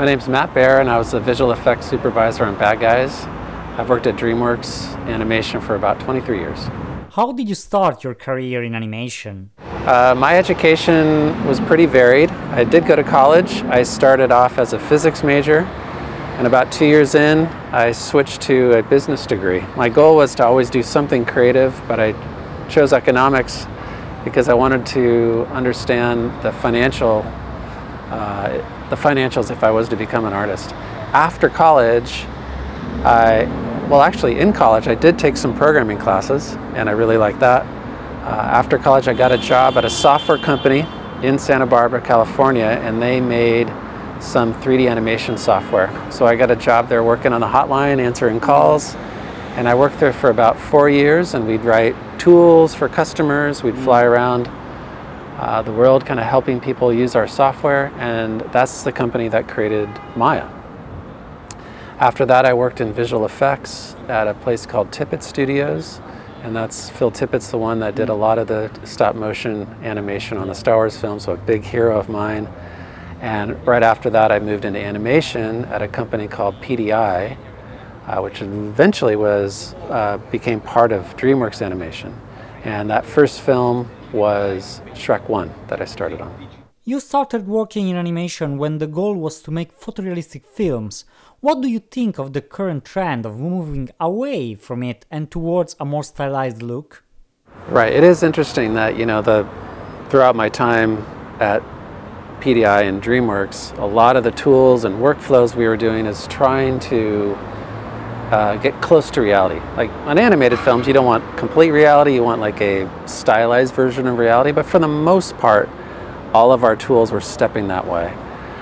My name's Matt Baer, and I was the visual effects supervisor on Bad Guys. I've worked at DreamWorks Animation for about 23 years. How did you start your career in animation? My education was pretty varied. I did go to college. I started off as a physics major, and about 2 years in, I switched to a business degree. My goal was to always do something creative, but I chose economics because I wanted to understand the financials if I was to become an artist. After college, in college I did take some programming classes, and I really liked that. After college I got a job at a software company in Santa Barbara, California, and they made some 3D animation software. So I got a job there working on the hotline, answering calls, and I worked there for about 4 years, and we'd write tools for customers. We'd fly around the world kind of helping people use our software, and that's the company that created Maya. After that I worked in visual effects at a place called Tippett Studios, and that's Phil Tippett's the one that did a lot of the stop motion animation on the Star Wars films, so a big hero of mine. And right after that I moved into animation at a company called PDI, which eventually became part of DreamWorks Animation. And that first film was Shrek 1 that I started on. You started working in animation when the goal was to make photorealistic films. What do you think of the current trend of moving away from it and towards a more stylized look? Right, it is interesting that, throughout my time at PDI and DreamWorks, a lot of the tools and workflows we were doing is trying to get close to reality. Like on animated films, you don't want complete reality, you want like a stylized version of reality, but for the most part, all of our tools were stepping that way.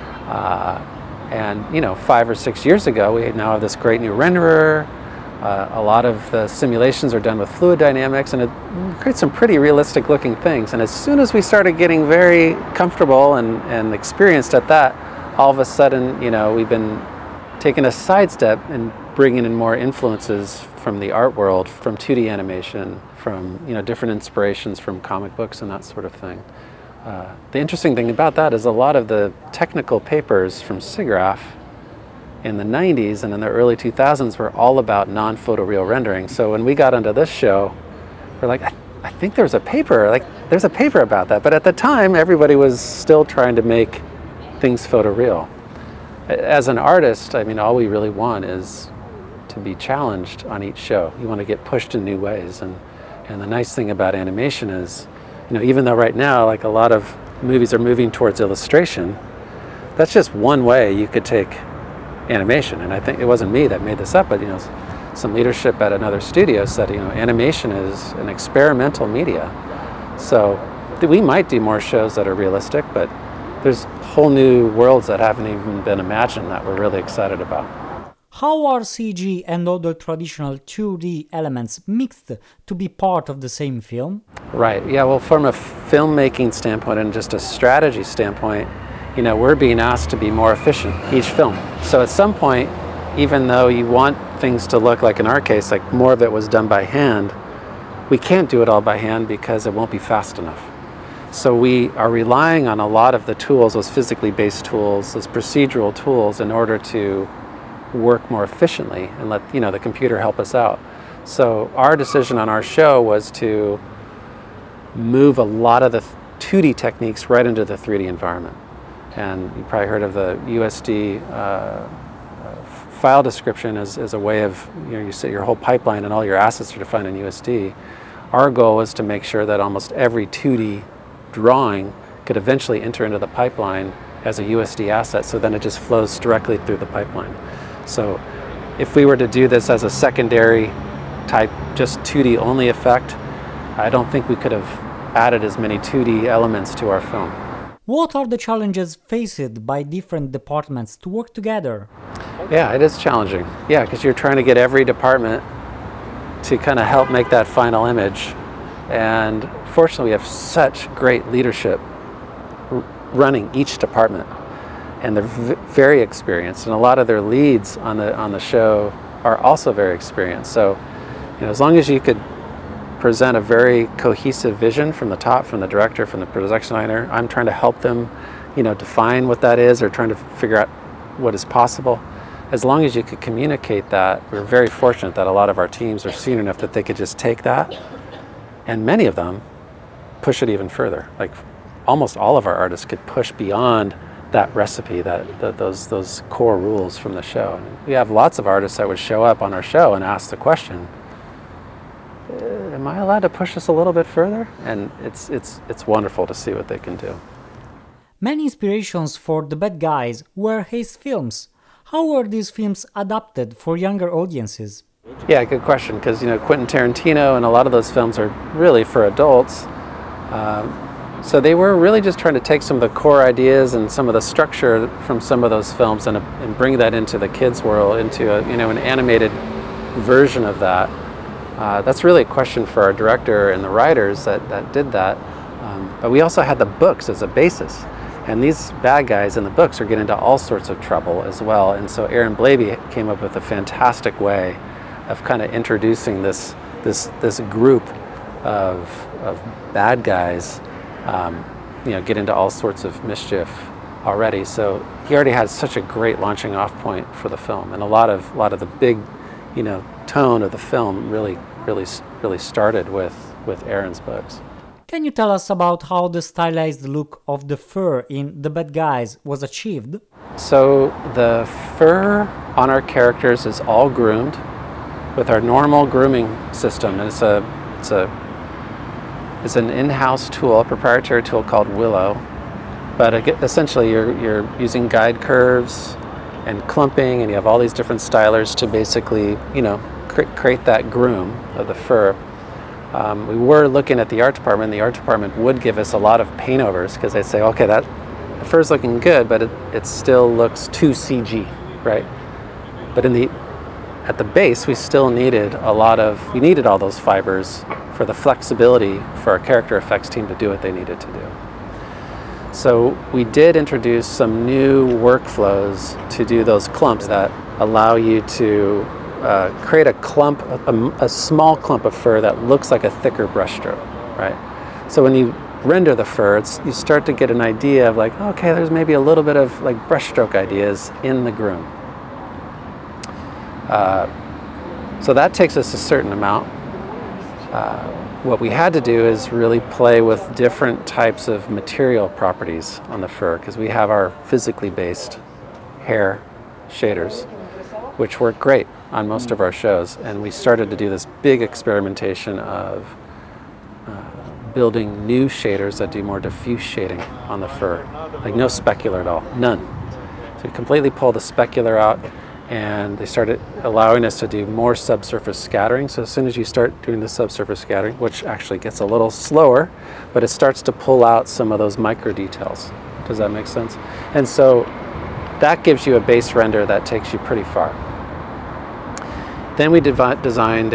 And 5 or 6 years ago, we now have this great new renderer. A lot of the simulations are done with fluid dynamics, and it creates some pretty realistic looking things. And as soon as we started getting very comfortable and experienced at that, all of a sudden, we've been taking a sidestep and bringing in more influences from the art world, from 2D animation, from different inspirations from comic books and that sort of thing. The interesting thing about that is a lot of the technical papers from SIGGRAPH in the 90s and in the early 2000s were all about non-photoreal rendering. So when we got onto this show, we're like, I think there's a paper about that. But at the time, everybody was still trying to make things photoreal. As an artist, all we really want is to be challenged on each show. You want to get pushed in new ways. And the nice thing about animation is, even though right now, like a lot of movies are moving towards illustration, that's just one way you could take animation. And I think it wasn't me that made this up, but some leadership at another studio said, animation is an experimental media. So we might do more shows that are realistic, but there's whole new worlds that haven't even been imagined that we're really excited about. How are CG and other traditional 2D elements mixed to be part of the same film? Right, yeah, well, from a filmmaking standpoint and just a strategy standpoint, we're being asked to be more efficient each film. So at some point, even though you want things to look like, in our case, like more of it was done by hand, we can't do it all by hand because it won't be fast enough. So we are relying on a lot of the tools, those physically based tools, those procedural tools, in order to work more efficiently and let the computer help us out. So our decision on our show was to move a lot of the 2D techniques right into the 3D environment. And you probably heard of the USD file description as a way of, you set your whole pipeline and all your assets are defined in USD. Our goal was to make sure that almost every 2D drawing could eventually enter into the pipeline as a USD asset, so then it just flows directly through the pipeline. So if we were to do this as a secondary type, just 2D only effect, I don't think we could have added as many 2D elements to our film. What are the challenges faced by different departments to work together? Yeah, it is challenging. Yeah, because you're trying to get every department to kind of help make that final image. And fortunately, we have such great leadership running each department. And they're very experienced, and a lot of their leads on the show are also very experienced. So, as long as you could present a very cohesive vision from the top, from the director, from the production designer, I'm trying to help them, define what that is, or trying to figure out what is possible. As long as you could communicate that, we're very fortunate that a lot of our teams are senior enough that they could just take that, and many of them push it even further. Like almost all of our artists could push beyond that recipe, those core rules from the show. And we have lots of artists that would show up on our show and ask the question, am I allowed to push this a little bit further? And it's wonderful to see what they can do. Many inspirations for The Bad Guys were his films. How were these films adapted for younger audiences? Yeah, good question, because Quentin Tarantino and a lot of those films are really for adults. So they were really just trying to take some of the core ideas and some of the structure from some of those films and bring that into the kids' world, into an animated version of that. That's really a question for our director and the writers that did that. But we also had the books as a basis. And these bad guys in the books are getting into all sorts of trouble as well. And so Aaron Blabey came up with a fantastic way of kind of introducing this group of bad guys, get into all sorts of mischief already. So he already had such a great launching off point for the film, and a lot of the big, tone of the film really started with Aaron's books. Can you tell us about how the stylized look of the fur in The Bad Guys was achieved? So the fur on our characters is all groomed with our normal grooming system. And it's an in-house tool, a proprietary tool called Willow. But essentially you're using guide curves and clumping, and you have all these different stylers to basically, create that groom of the fur. We were looking at the art department. The art department would give us a lot of paint overs because they'd say, okay, the fur's looking good, but it still looks too CG, right? But at the base, we still needed all those fibers for the flexibility for our character effects team to do what they needed to do. So we did introduce some new workflows to do those clumps that allow you to create a small clump of fur that looks like a thicker brushstroke, right? So when you render the fur, you start to get an idea of like, okay, there's maybe a little bit of like brushstroke ideas in the groom. So that takes us a certain amount. What we had to do is really play with different types of material properties on the fur, because we have our physically based hair shaders, which work great on most of our shows. And we started to do this big experimentation of building new shaders that do more diffuse shading on the fur, like no specular at all, none. So we completely pull the specular out, and they started allowing us to do more subsurface scattering. So as soon as you start doing the subsurface scattering, which actually gets a little slower, but it starts to pull out some of those micro details. Does that make sense? And so that gives you a base render that takes you pretty far. Then we designed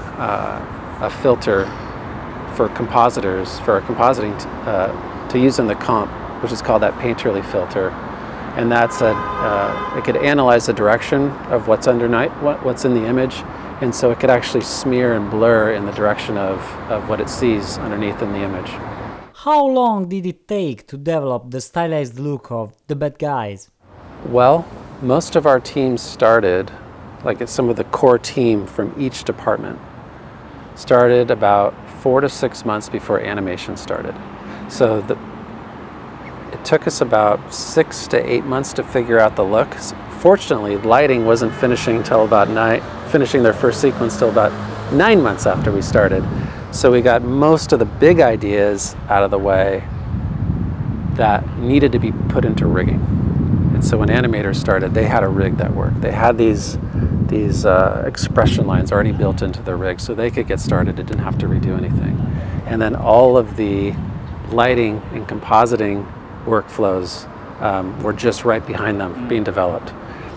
a filter for compositors, for our compositing to use in the comp, which is called that Painterly filter. And that's it could analyze the direction of what's underneath, what's in the image, and so it could actually smear and blur in the direction of what it sees underneath in the image. How long did it take to develop the stylized look of The Bad Guys? Well, most of our teams started, like some of the core team from each department, started about 4 to 6 months before animation started. So it took us about 6 to 8 months to figure out the look. Fortunately, lighting wasn't finishing their first sequence till about 9 months after we started. So we got most of the big ideas out of the way that needed to be put into rigging. And so when animators started, they had a rig that worked. They had these expression lines already built into the rig, so they could get started. It didn't have to redo anything. And then all of the lighting and compositing workflows were just right behind them being developed.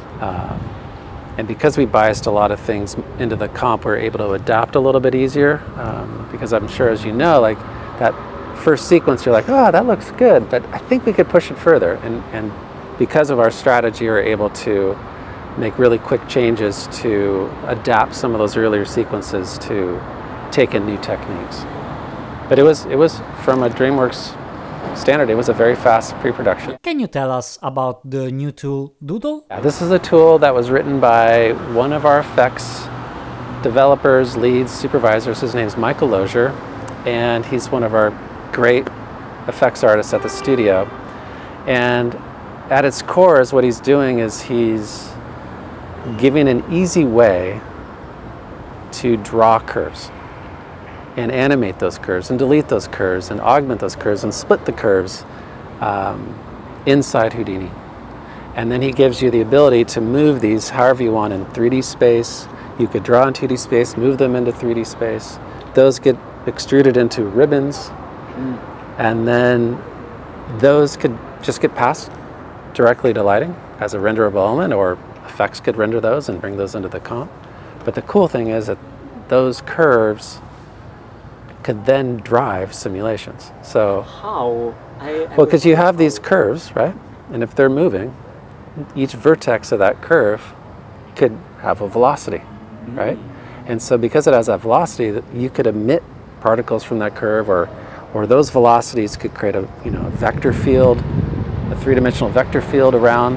And because we biased a lot of things into the comp, we're able to adapt a little bit easier, because I'm sure, as you know, like that first sequence, you're like, oh, that looks good, but I think we could push it further. And because of our strategy, we're able to make really quick changes to adapt some of those earlier sequences to take in new techniques. But it was from a DreamWorks standard. It was a very fast pre-production. Can you tell us about the new tool Doodle? Yeah, this is a tool that was written by one of our effects developers, leads, supervisors. His name's Michael Lozier, and he's one of our great effects artists at the studio. And at its core is what he's doing is he's giving an easy way to draw curves and animate those curves and delete those curves and augment those curves and split the curves inside Houdini. And then he gives you the ability to move these however you want in 3D space. You could draw in 2D space, move them into 3D space. Those get extruded into ribbons, and then those could just get passed directly to lighting as a renderable element, or effects could render those and bring those into the comp. But the cool thing is that those curves could then drive simulations. So, How? well, because you have these curves, right? And if they're moving, each vertex of that curve could have a velocity, right? And so because it has that velocity, you could emit particles from that curve, or those velocities could create a vector field, a three-dimensional vector field around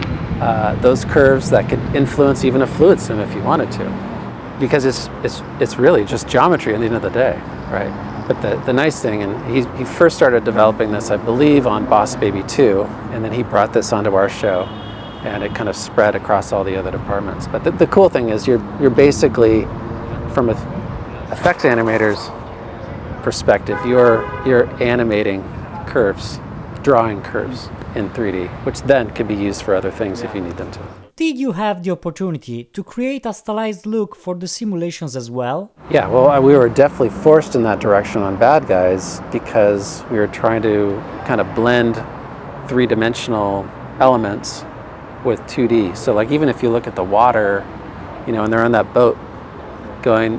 those curves that could influence even a fluid sim if you wanted to. Because it's really just geometry at the end of the day, right? But the nice thing, and he first started developing this, I believe, on Boss Baby 2, and then he brought this onto our show, and it kind of spread across all the other departments. But the cool thing is you're basically, from an effects animator's perspective, you're animating curves, drawing curves in 3D, which then can be used for other things if you need them to. Did you have the opportunity to create a stylized look for the simulations as well? Yeah, well, we were definitely forced in that direction on Bad Guys because we were trying to kind of blend three-dimensional elements with 2D. So like even if you look at the water, and they're on that boat going,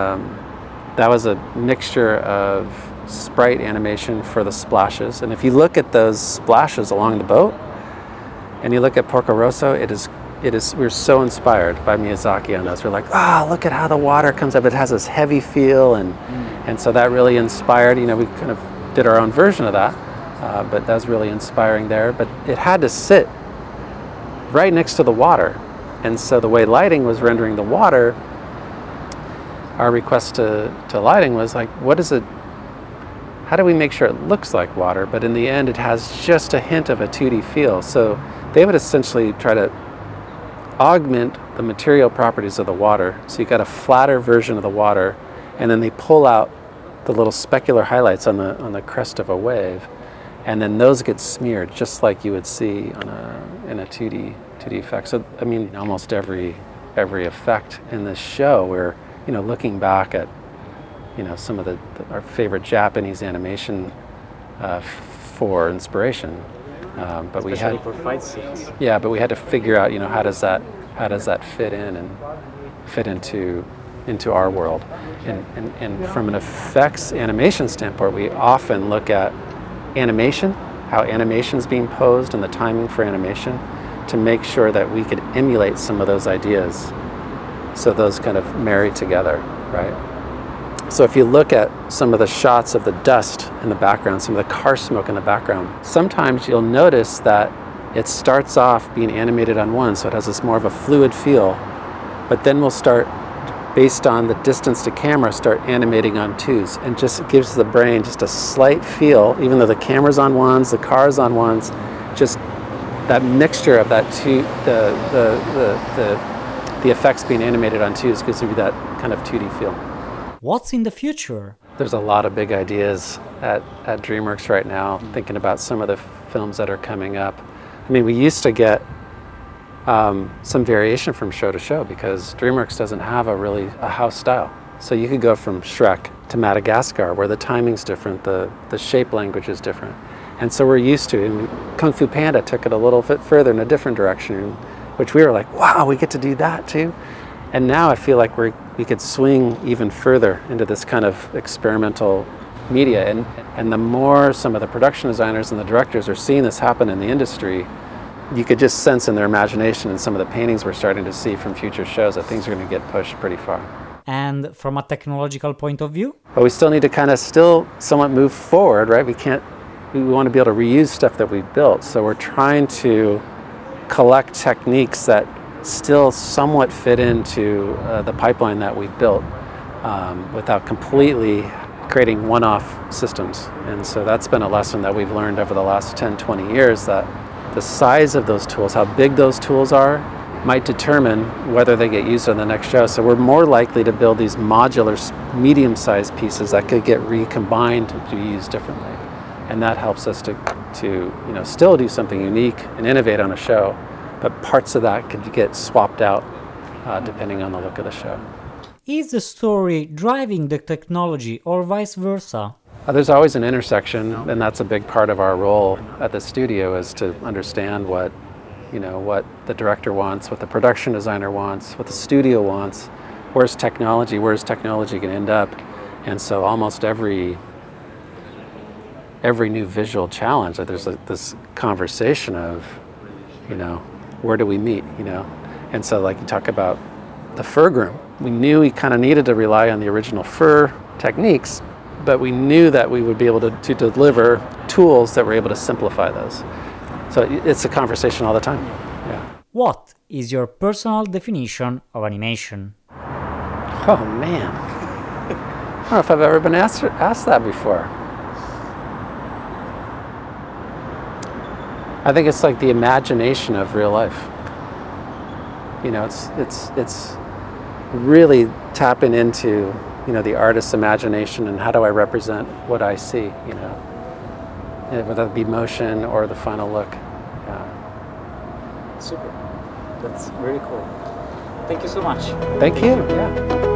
that was a mixture of sprite animation for the splashes. And if you look at those splashes along the boat and you look at Porco Rosso, we're so inspired by Miyazaki on those. We're like, look at how the water comes up. It has this heavy feel, and so that really inspired. We kind of did our own version of that, but that was really inspiring there. But it had to sit right next to the water, and so the way lighting was rendering the water, our request to lighting was like, how do we make sure it looks like water, but in the end it has just a hint of a 2D feel? So they would essentially try to augment the material properties of the water. So you got a flatter version of the water, and then they pull out the little specular highlights on the crest of a wave, and then those get smeared just like you would see in a 2D effect. So I mean, almost every effect in this show, we're looking back at some of our favorite Japanese animation for inspiration. But Especially for fight scenes. Yeah, but we had to figure out, how does that fit in and fit into our world, and from an effects animation standpoint, we often look at animation, how animation's being posed and the timing for animation, to make sure that we could emulate some of those ideas, so those kind of marry together, right? So if you look at some of the shots of the dust in the background, some of the car smoke in the background, sometimes you'll notice that it starts off being animated on one, so it has this more of a fluid feel, but then we'll start, based on the distance to camera, start animating on twos, and just gives the brain just a slight feel, even though the camera's on ones, the car's on ones, just that mixture of that the effects being animated on twos gives you that kind of 2D feel. What's in the future? There's a lot of big ideas at DreamWorks right now, thinking about some of the films that are coming up. I mean, we used to get some variation from show to show because DreamWorks doesn't have a house style. So you could go from Shrek to Madagascar, where the timing's different, the shape language is different. And so we're used to it. And Kung Fu Panda took it a little bit further in a different direction, which we were like, wow, we get to do that too. And now I feel like we could swing even further into this kind of experimental media. And the more some of the production designers and the directors are seeing this happen in the industry, you could just sense in their imagination and some of the paintings we're starting to see from future shows that things are going to get pushed pretty far. And from a technological point of view? But we still need to kind of somewhat move forward, right? We can't we want to be able to reuse stuff that we've built. So we're trying to collect techniques that still somewhat fit into the pipeline that we've built without completely creating one-off systems. And so that's been a lesson that we've learned over the last 10, 20 years, that the size of those tools, how big those tools are, might determine whether they get used on the next show. So we're more likely to build these modular, medium-sized pieces that could get recombined to be used differently. And that helps us to still do something unique and innovate on a show, but parts of that could get swapped out depending on the look of the show. Is the story driving the technology or vice versa? There's always an intersection, and that's a big part of our role at the studio, is to understand what the director wants, what the production designer wants, what the studio wants, where's technology going to end up. And so almost every new visual challenge, there's this conversation of, where do we meet, And so like you talk about the fur groom, we knew we kind of needed to rely on the original fur techniques, but we knew that we would be able to deliver tools that were able to simplify those. So it's a conversation all the time. Yeah. What is your personal definition of animation? Oh man, I don't know if I've ever been asked that before. I think it's like the imagination of real life. It's really tapping into the artist's imagination and how do I represent what I see, whether it be motion or the final look. Super. That's really cool. Thank you so much. Thank you. Yeah.